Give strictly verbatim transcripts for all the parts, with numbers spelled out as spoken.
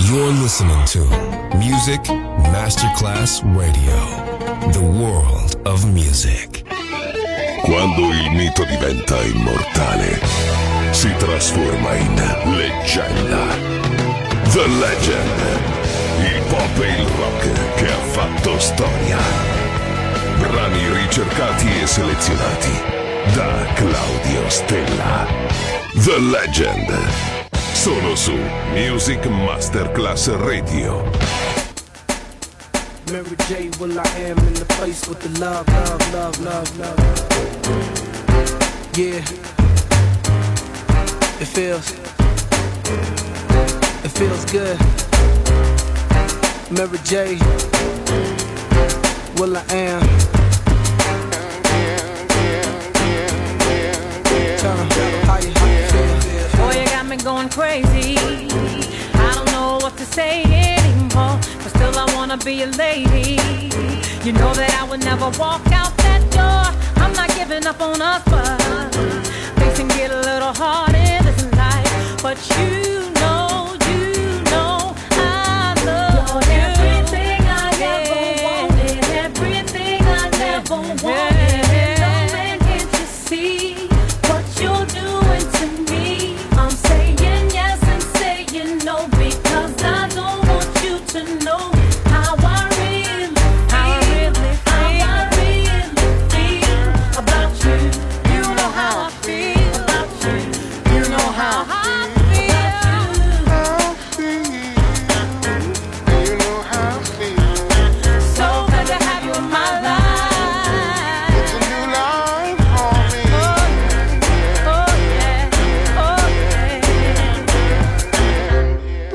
You're listening to Music Masterclass Radio, the world of music. Quando il mito diventa immortale, si trasforma in leggenda. The Legend, il pop e il rock che ha fatto storia. Brani ricercati e selezionati da Claudio Stella. The Legend, solo su Music Masterclass Radio. Mary J, will I am in the place with the love, love, love, love, love. Yeah, it feels, it feels good. Mary J, will I am. Tell 'em how you, how you feel. Boy, you got me going crazy. I don't know what to say anymore, but still I wanna be a lady. You know that I would never walk out that door. I'm not giving up on us, but things can get a little hard in this life. But you know, you know I love you. Everything I ever wanted, everything I never wanted. And no man can you see what you're doing to me. I'm saying yes and saying no because I don't want you to know how I really feel, how I really feel, how I really feel about you. You know how I feel about you. You know how I feel. You know how I feel. So glad to have you in my life. It's a new life for me. Oh yeah, oh yeah.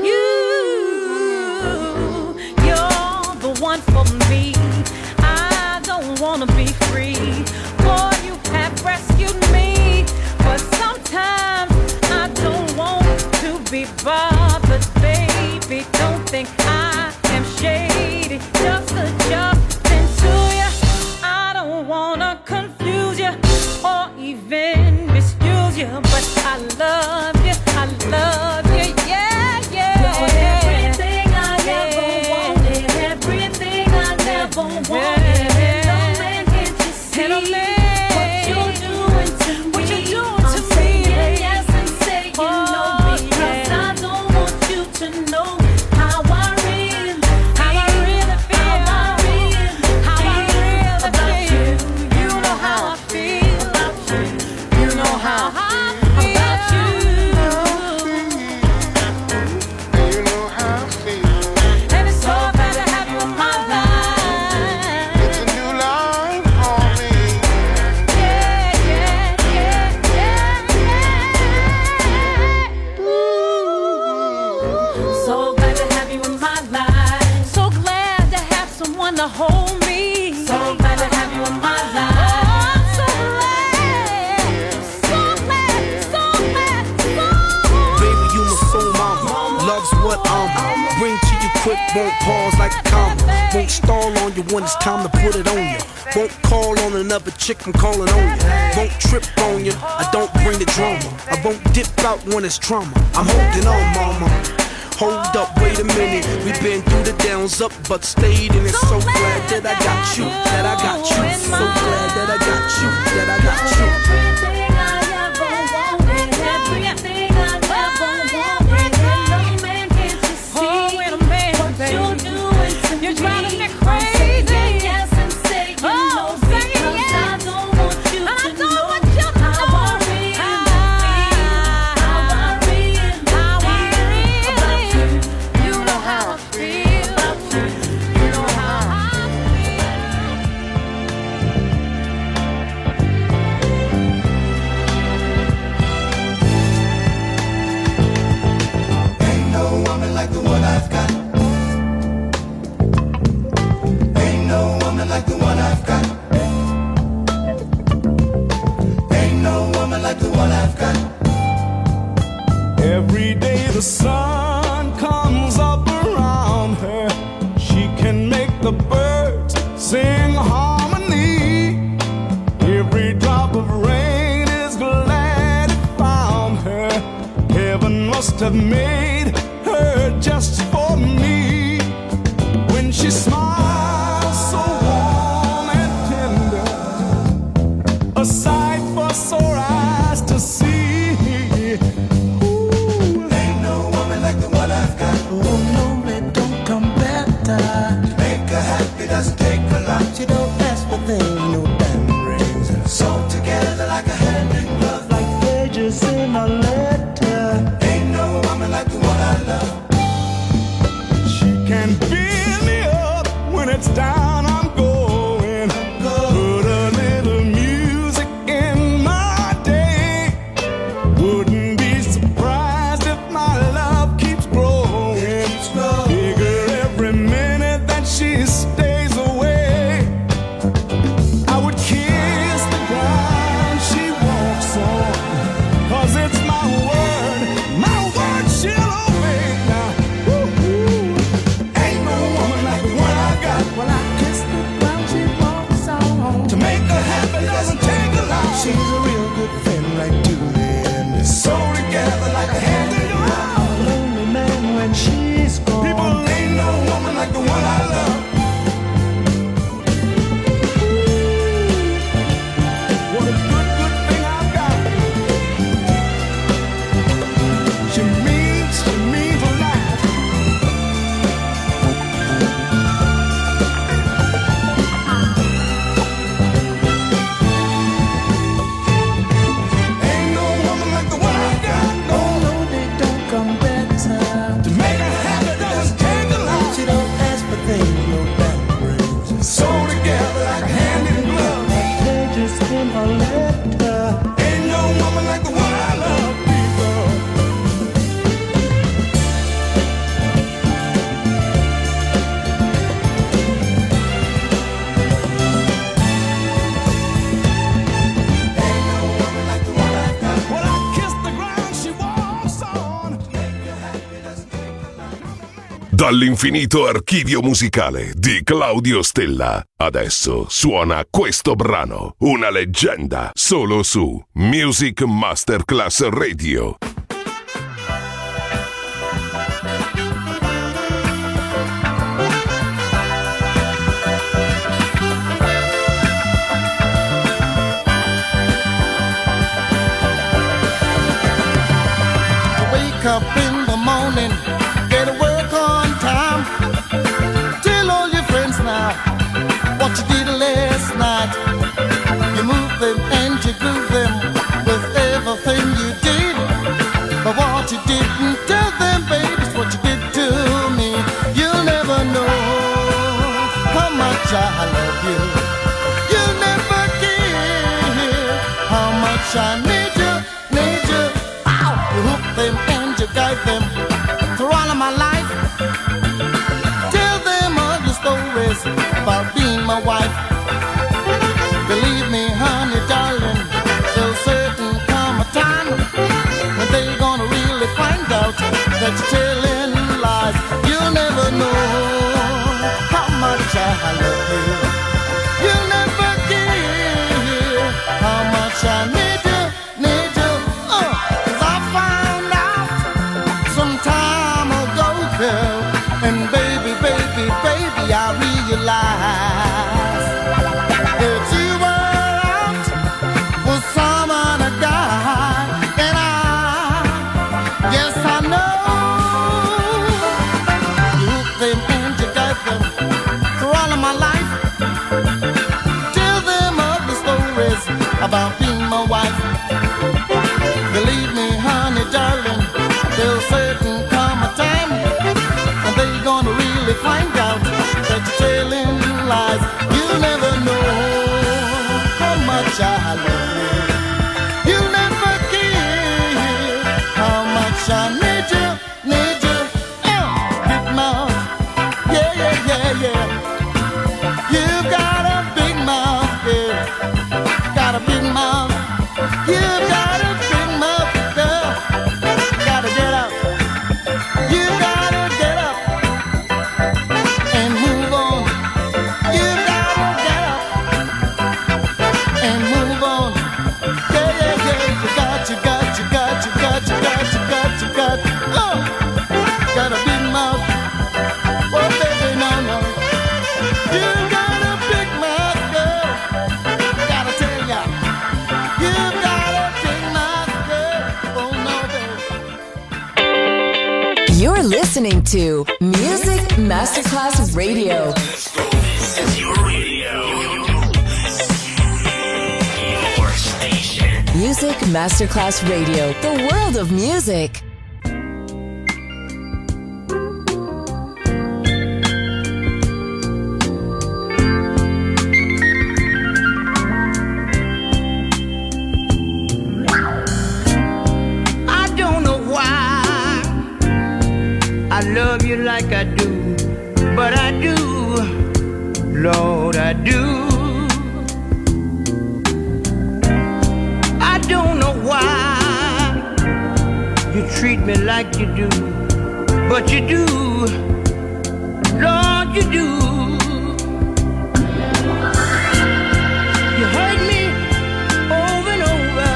You, you're the one for me. I don't wanna be free. Boy, you have rescued me, but sometimes I don't want to be bothered, baby. Don't think I am shady, just adjusting to you. I don't wanna confuse you or even misuse you, but I love you, I love you, yeah, yeah. Everything I ever wanted, everything I never wanted. And no man can you see what you're doing to me. What you're doing to me. I'm saying yes and saying no because I don't want you to know how I really feel, how I really feel, how I really feel. You know how I feel about you. You know how I feel about you. You know how I feel. And it's so bad to have you in my life. It's a new life for me. Yeah, yeah, yeah, yeah, yeah. Ooh. So glad to have you in my life. So glad to have someone to hold me. So glad to have you in my life. Oh, I'm so glad, so glad, so glad, so Baby, you my soul mama. Love's what I'm. Bring to you quick, won't pause like a comma. Won't stall on you when it's time to put it on you. Won't call on another chick, I'm calling on you. Won't trip on you, I don't bring the drama. I won't dip out when it's trauma. I'm holding on, mama. Hold up, wait a minute. We've been through the downs, up, but stayed in it. So glad that I got you, that I got you. So glad that I got you, that I got you. everything I ever wanted, everything I never wanted. And no man can you see what you're doing to me. You're driving me crazy. I'm saying yes and saying no because I don't want you to know how I really feel, how I really feel about you. You know how I feel about you. You know how I Ain't no woman like the one I've got. Ain't no woman like the one I've got. Ain't no woman like the one I've got. Every day the sun comes up around her. She can make the birds sing harmony. Every drop of rain is glad it found her. Heaven must have made her her just for me. When she smiles so warm and tender, a sight for sore eyes to see. Ooh. Ain't no woman like the one I've got. Oh no, it don't come better. Make her happy doesn't take a lot. She don't ask for things, no diamond rings. Sewn together like a hand in glove. Like pages in a letter. Ain't no woman like the one I love. She can fill me up when it's down. I'm going. Put a little music in my day. Wouldn't be surprised if my love keeps growing. Bigger every minute that she stays away. I would kiss the ground she walks on, 'cause it's my word, my word she'll obey. Now, woo-hoo. Ain't no woman like the one I got. Well, I kiss the ground she walks on. To make her happy doesn't take a lot. She's a real good friend like Julian. Sew together like a hand in glove. I'm a lonely man when she's gone. People, ain't no woman like the one I love. What a good, good thing I've got. She means, she means a lot. Ain't no woman like the one I got. No, No, they don't come better. to make her happy doesn't take a lot. She don't ask for things, no diamond rings. Sew together like a hand in glove. Pages in a letter. Ain't no woman like the one I love, people. When I kiss the ground she walks on. Dall'infinito archivio musicale di Claudio Stella. Adesso suona questo brano, una leggenda, solo su Music Masterclass Radio. Wake up in the morning, get to work on time. Tell all your friends now what you did last night. You move them and you groove them with everything you did. But what you didn't tell them, baby, is what you did to me. You'll never know how much I love you. You'll never care how much I need you, need you. Ow! You hook them and you guide them through all of my life. Tell them all your stories about being my wife. Believe me, honey, darling, there'll certain come a time when they're gonna really find out that you're telling lies. You'll never know how much I love you. You'll never care how much I need you, need you. Uh, 'cause I found out some time ago, girl, and baby, baby, baby, I realize that you were out with some other guy, and I, yes, I know. You hook them and you guide them through all of my life. Tell them ugly stories about being my wife. Believe me, honey, darling, there'll certain come a time when they're gonna really find out that you're telling lies. You'll never know how much I love you. You'll never care how much I need you, need you. Uh, big mouth, yeah, yeah, yeah, yeah. You got a big mouth, yeah. Got a big mouth. You're listening to Music Masterclass Radio. This is your radio. Your station. Music Masterclass Radio. The world of music. I love you like I do, but I do, Lord, I do. I don't know why you treat me like you do, but you do, Lord, you do. You hurt me over and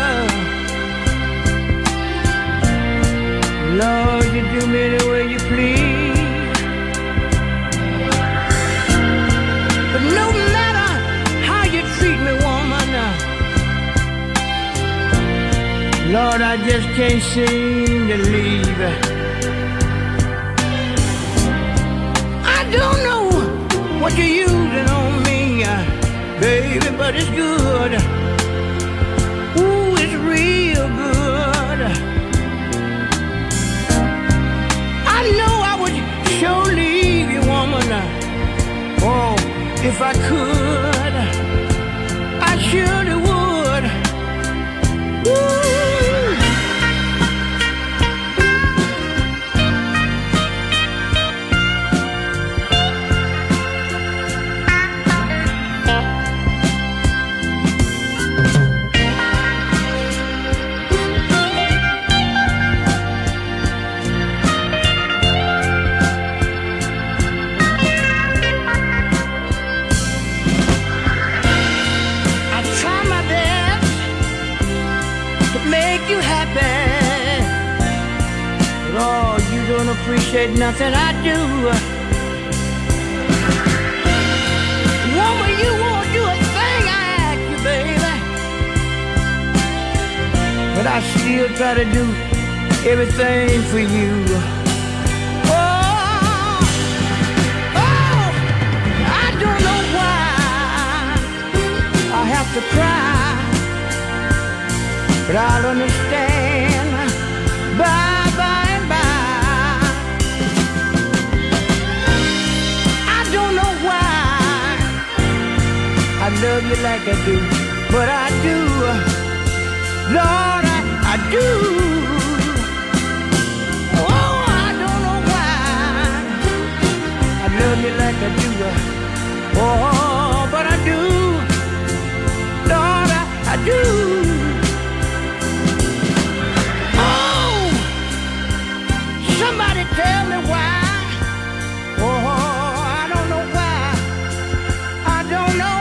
over, Lord, you do me the way you please. But no matter how you treat me, woman, Lord, I just can't seem to leave. I don't know what you're using on me, baby, but it's good. Ooh, it's real good. I know I would sure leave you, woman. Oh, if I could, I surely would. Ooh. Appreciate nothing I do. Woman, you won't do a thing I ask you, baby. But I still try to do everything for you. Oh, oh, I don't know why I have to cry, but I'll understand bye bye. I love you like I do, but I do, Lord, I, I do. Oh, I don't know why I love you like I do. Oh, but I do, Lord, I, I do. Oh, somebody tell me why. Oh, I don't know why. I don't know.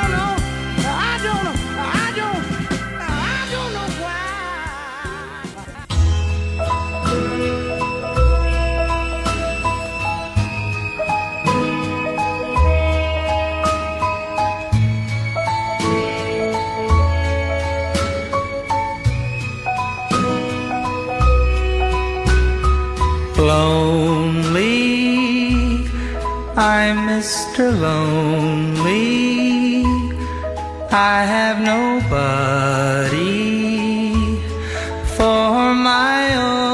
Lonely, I'm Mister Lonely. I have nobody for my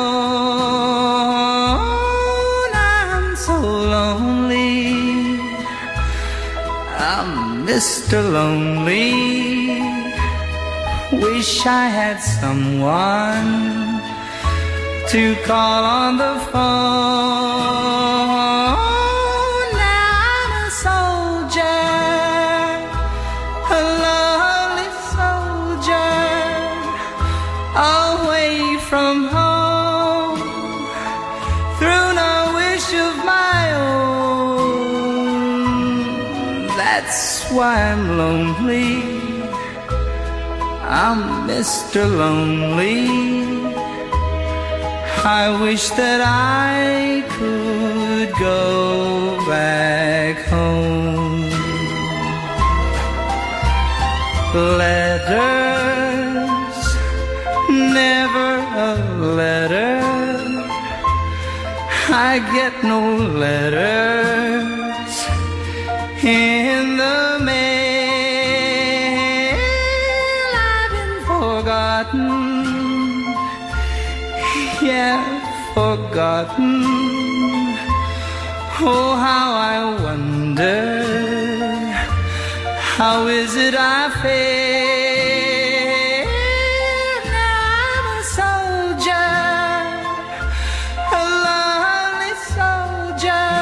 own. I'm so lonely. I'm Mister Lonely. Wish I had someone to call on the phone. Now I'm a soldier, a lonely soldier, away from home, through no wish of my own. That's why I'm lonely. I'm Mister Lonely. I wish that I could go back home. Letters, never a letter. I get no letters in the mail. I've been forgotten, yeah, forgotten. Oh, how I wonder, how is it I fail? Now I'm a soldier, a lonely soldier,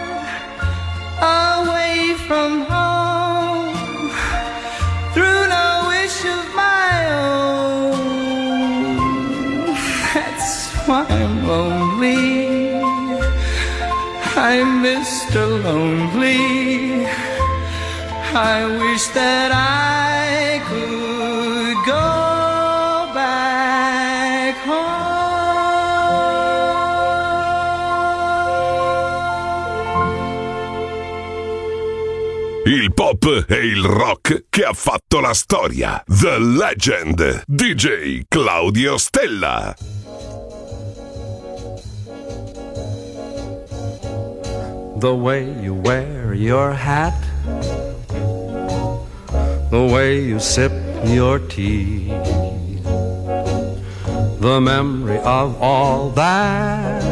away from home, through no wish of my own. That's why I'm lonely, I'm Mister Lonely. I wish that I could go back home. Il pop e il rock che ha fatto la storia. The Legend, D J Claudio Stella. The way you wear your hat, the way you sip your tea, the memory of all that.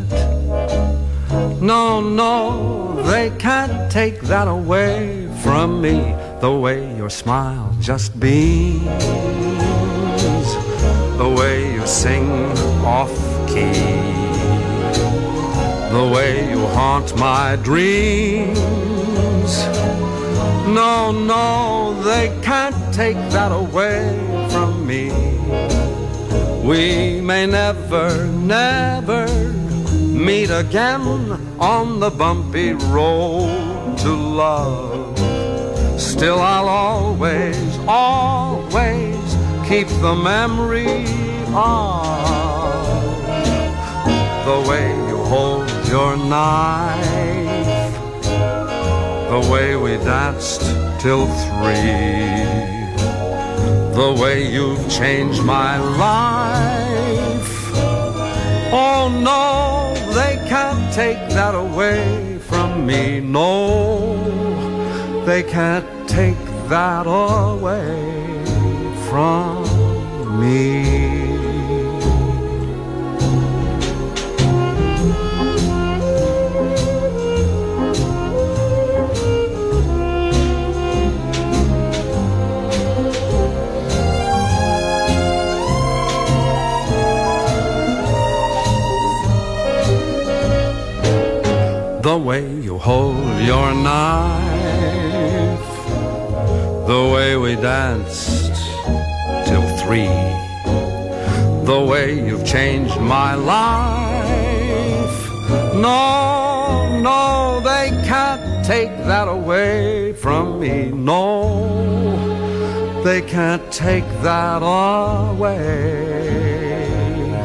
No, no, they can't take that away from me. The way your smile just beams, the way you sing off key, the way you haunt my dreams. No, no, they can't take that away from me. We may never, never meet again on the bumpy road to love. Still I'll always, always keep the memory of the way you hold your knife, the way we danced till three, the way you've changed my life. Oh no, they can't take that away from me. No, they can't take that away from me. The way you hold your knife, the way we danced till three, the way you've changed my life. No, no, they can't take that away from me. No, they can't take that away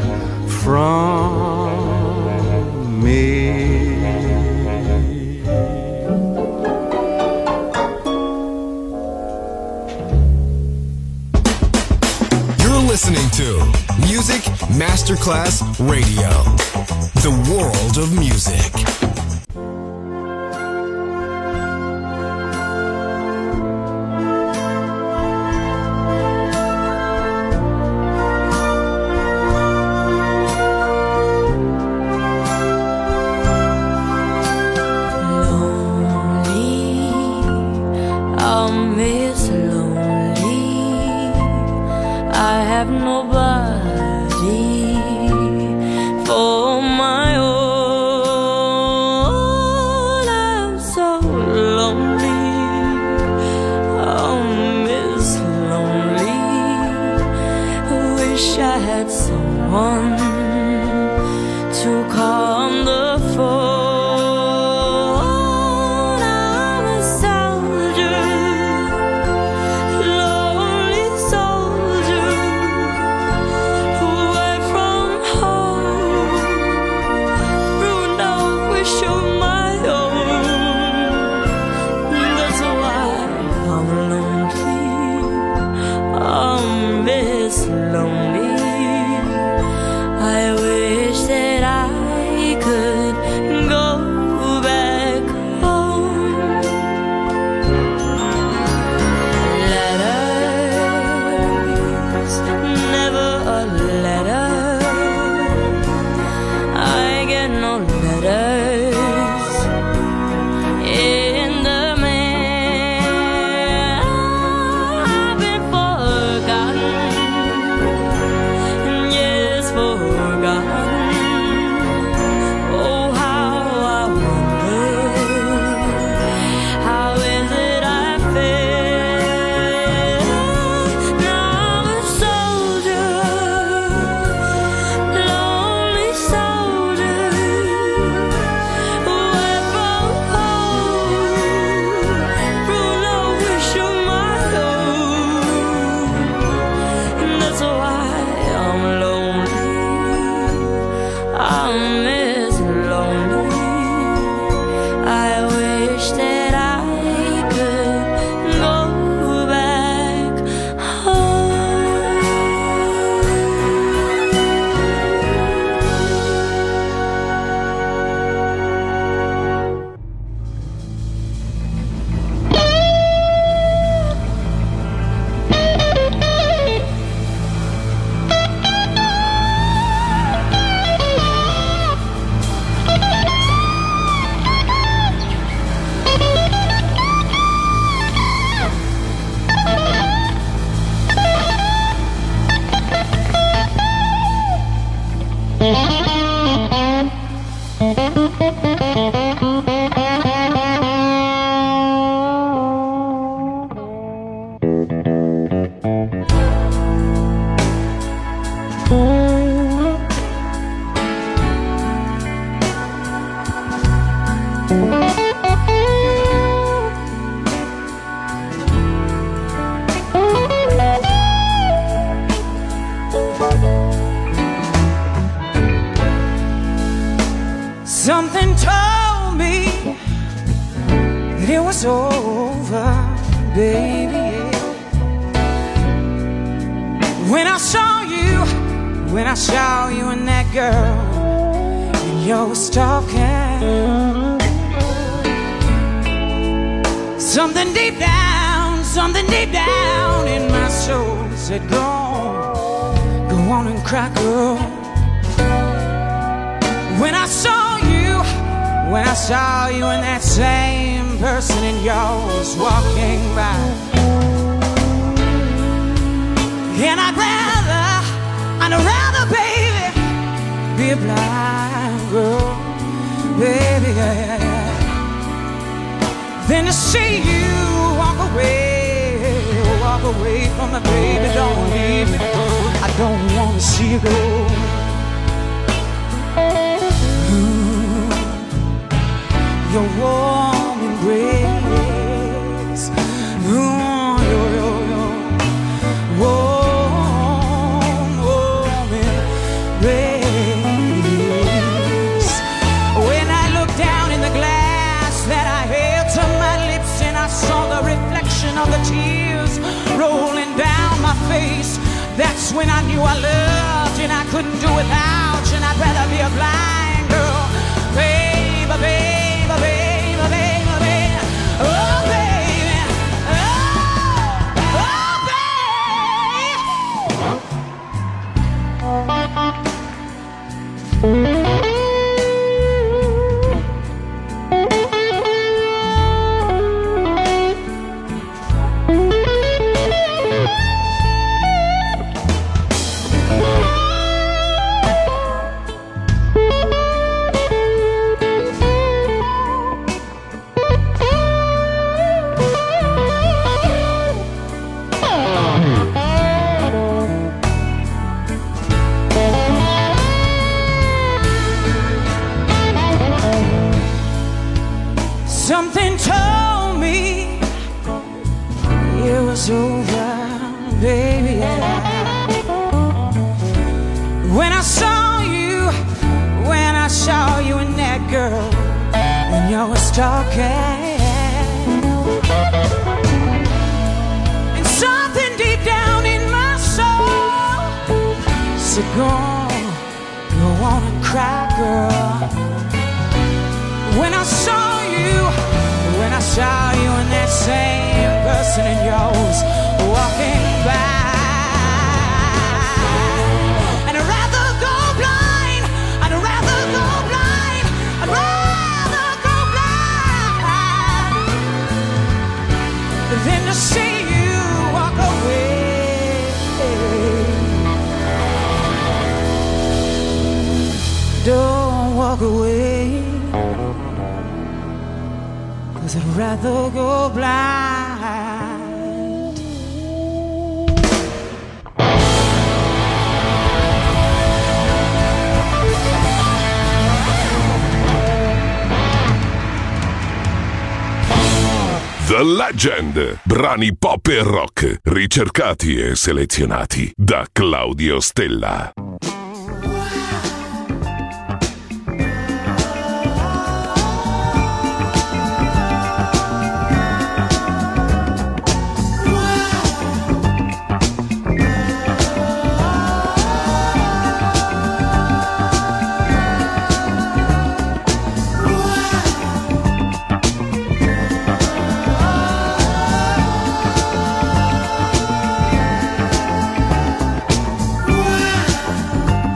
from me. Listening to Music Masterclass Radio, the world of music. Nobody. for my own. Something told me that it was over, baby. When I saw you, when I saw you and that girl, and you was talking. Something deep down, something deep down in my soul said, go on, go on and cry, girl. When I saw you, when I saw you and that same person in yours walking by. And I'd rather, I'd rather, baby, be a blind girl, baby, yeah, yeah, yeah, than to see you walk away, walk away from me, baby, don't leave me. I don't want to see you go. Ooh, your warm embrace, ooh, yo, yo, yo, warm, warm embrace. When I look down in the glass that I held to my lips and I saw the reflection of the tears rolling down my face, that's when I knew I loved you and I couldn't do without you, and I'd rather be a blind girl, baby, baby, baby, baby, baby, oh baby, oh, oh baby. Something told me it was over, baby, yeah. When I saw you, when I saw you and that girl, and you was talking, and something deep down in my soul said, go on, go on and cry, girl. When I saw you, when I saw you and that same person in yours walking by, and I'd rather go blind, I'd rather go blind, I'd rather go blind than to see you walk away. Don't walk away, 'cause I'd rather go blind. The Legend, brani pop e rock, ricercati e selezionati da Claudio Stella. Wow.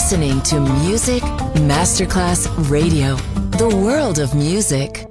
listening to Music Masterclass Radio, the world of music.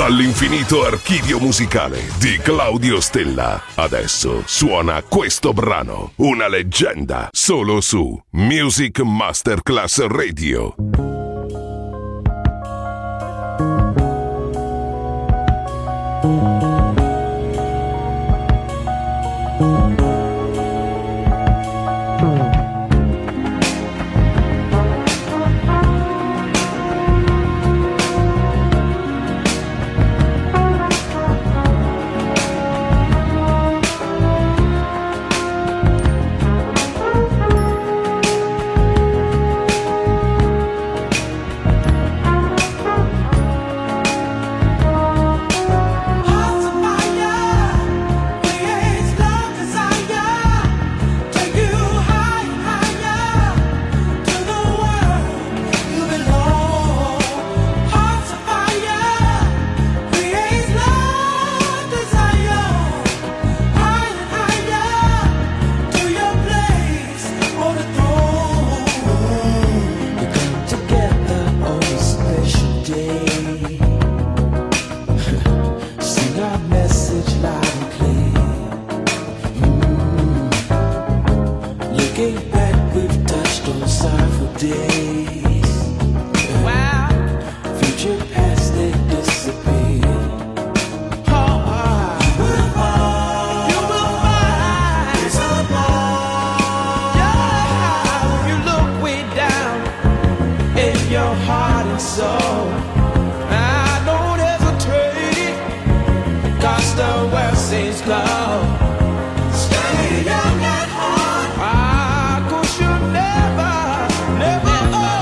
Dall'infinito archivio musicale di Claudio Stella. Adesso suona questo brano, una leggenda, solo su Music Masterclass Radio. Stay young at heart. Ah, 'cause you'll never, never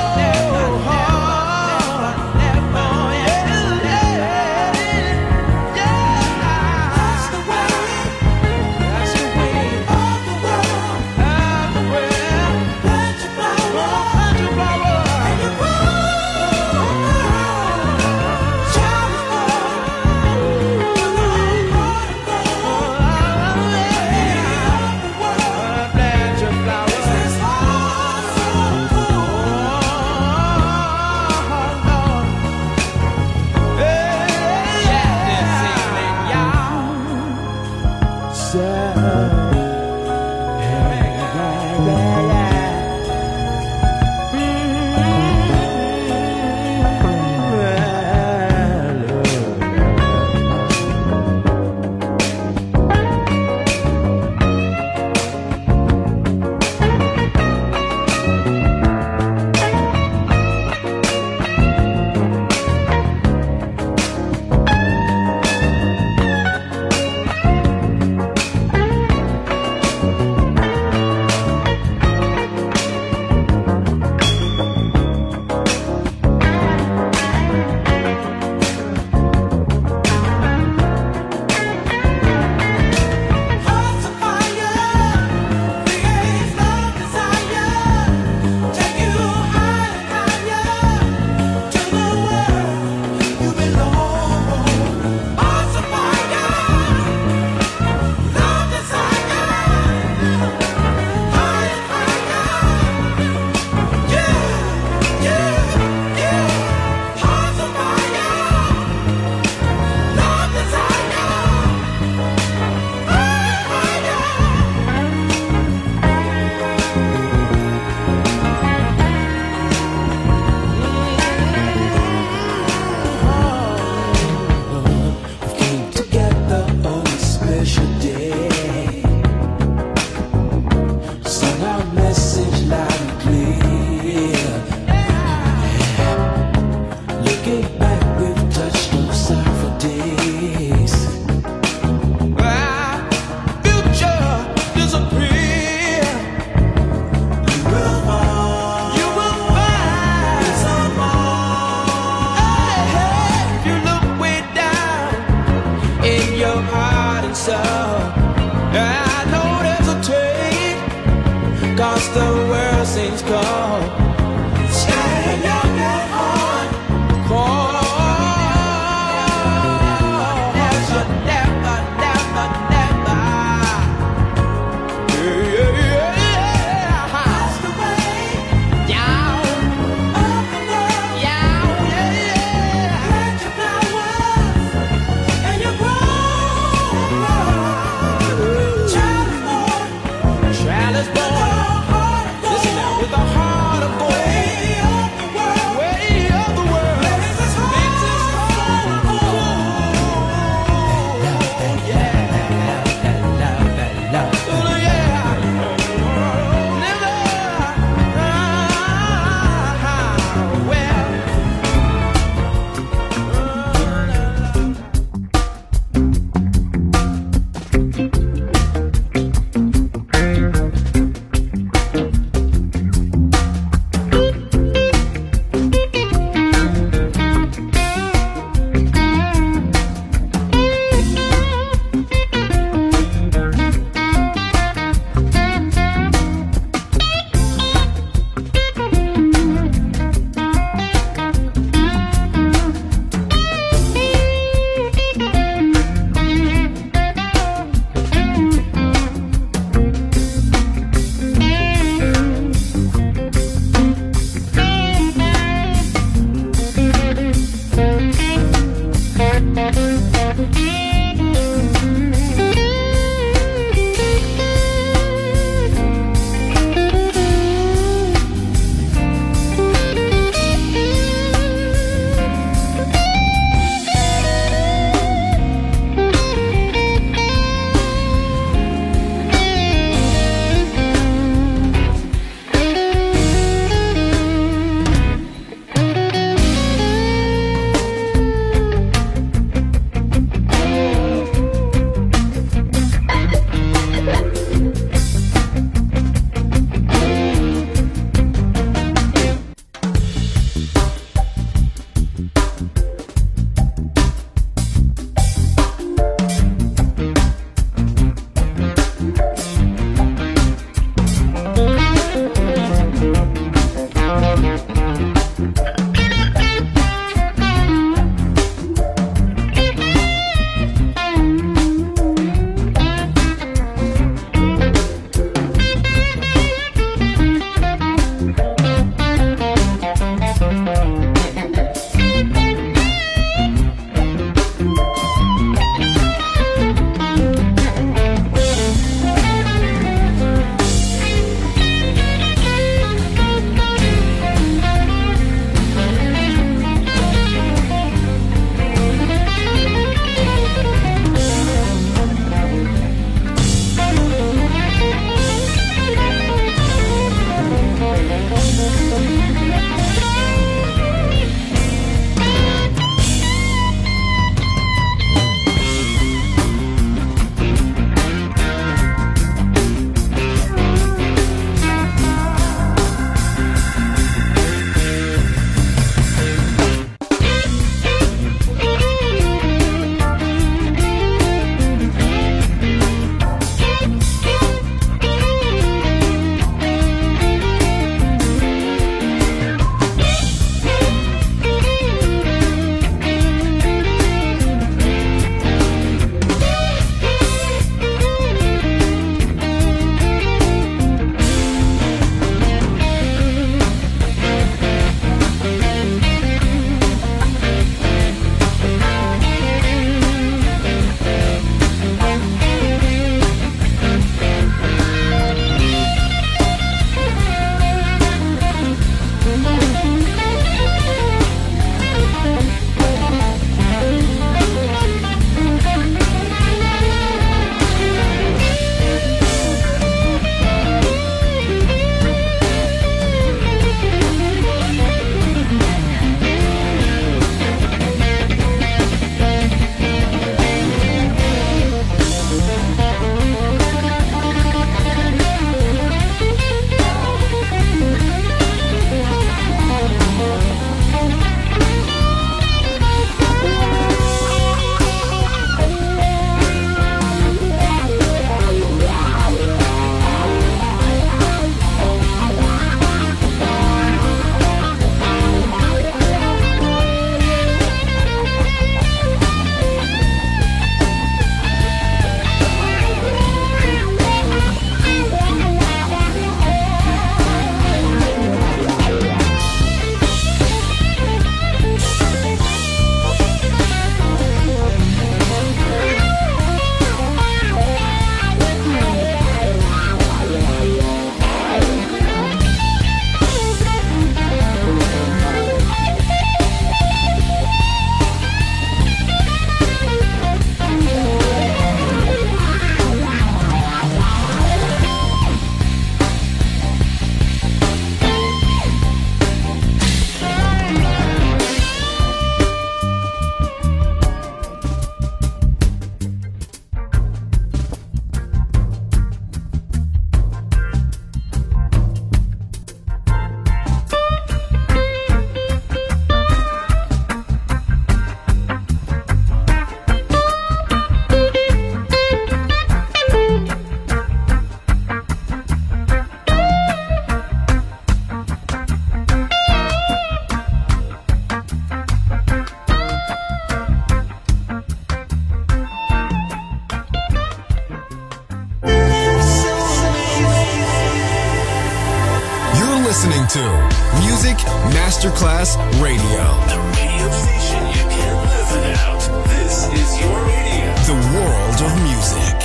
listening to Music Masterclass Radio. The radio station you can't live without. This is your radio. The world of music.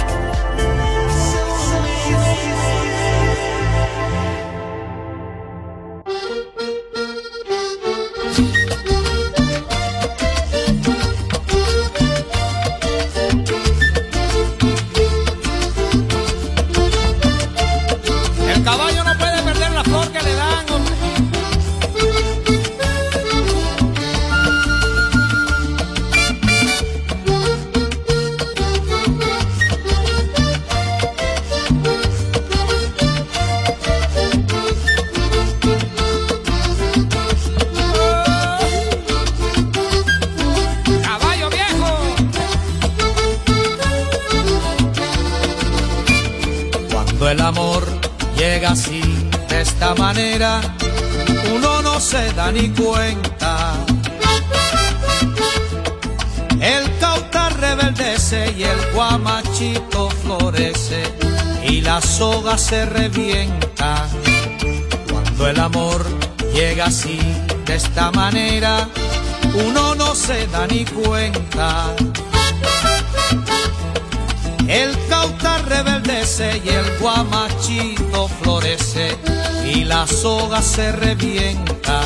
El caballo no puede perder la flor que le dan, hombre. Caballo viejo. Cuando el amor llega así, de esta manera, uno no se da ni cuenta. El cauta rebeldece y el guamachito florece y la soga se revienta. Cuando el amor llega así, de esta manera, uno no se da ni cuenta. El cauta rebeldece y el guamachito florece y la soga se revienta.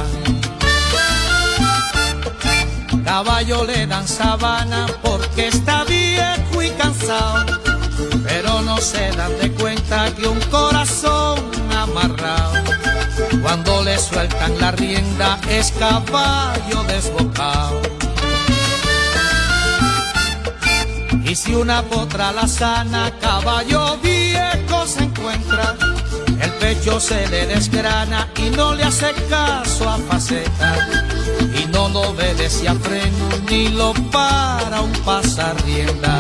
Caballo le dan sabana porque está viejo y cansado, pero no se dan de cuenta que un corazón amarrado, cuando le sueltan la rienda, es caballo desbocado. Y si una potra la sana, caballo viejo se encuentra, el pecho se le desgrana y no le hace caso a faceta, y no lo obedece a freno ni lo para un pasarrienda.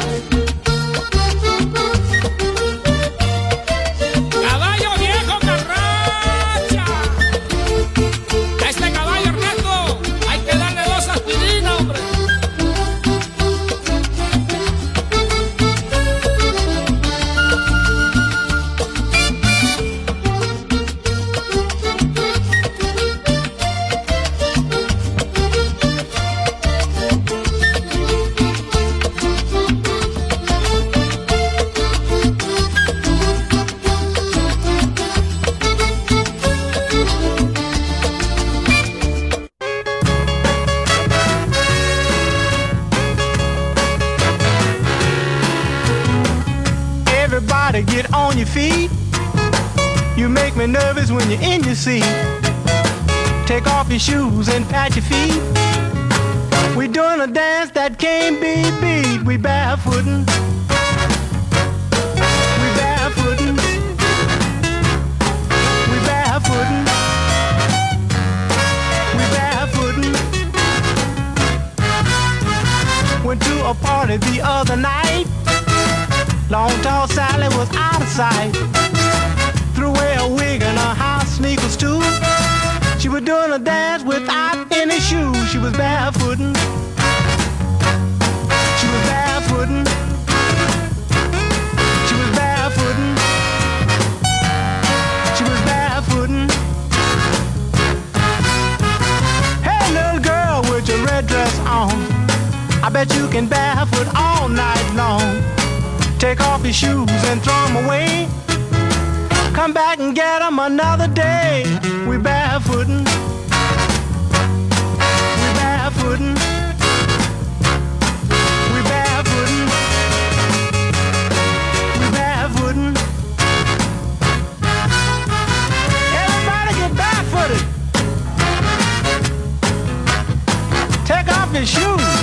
Caballo viejo carracha, a este caballo Ernesto hay que darle dos aspirinas, hombre. Everybody get on your feet. You make me nervous when you're in your seat. Take off your shoes and pat your feet. We're doing a dance that can't be beat. We barefootin'. We barefootin'. We barefootin'. We barefootin'. Went to a party the other night. Long tall Sally was out of sight. Threw away a wig and her house sneakers too. She was doing a dance without any shoes. She was barefootin'. She was barefootin'. She was barefootin'. She was barefootin'. Hey little girl with your red dress on, I bet you can barefoot all night long. Take off your shoes and throw them away. Come back and get them another day. We barefootin'. We barefootin'. We barefootin'. We barefootin'. Everybody get barefooted. Take off your shoes.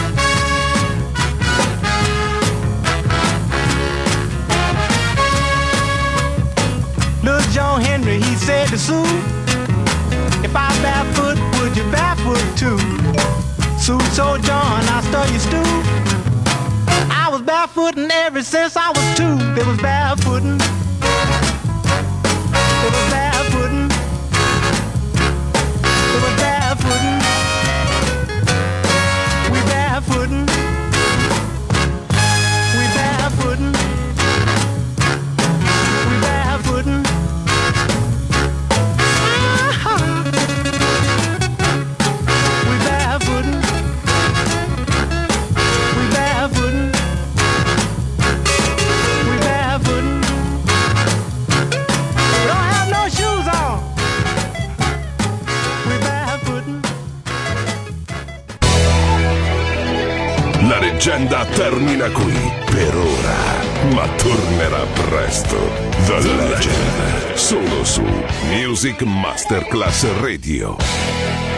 Little John Henry, he said to Sue, if I barefoot, would you barefoot too? Sue told John, I stir your stew. I was barefootin' ever since I was two. They was barefootin'. They was barefootin'. They was barefootin'. We barefootin'. We barefootin'. We barefootin'. Ah-ha. leggenda termina qui per ora, ma tornerà presto. The Legend, solo su Music Masterclass Radio.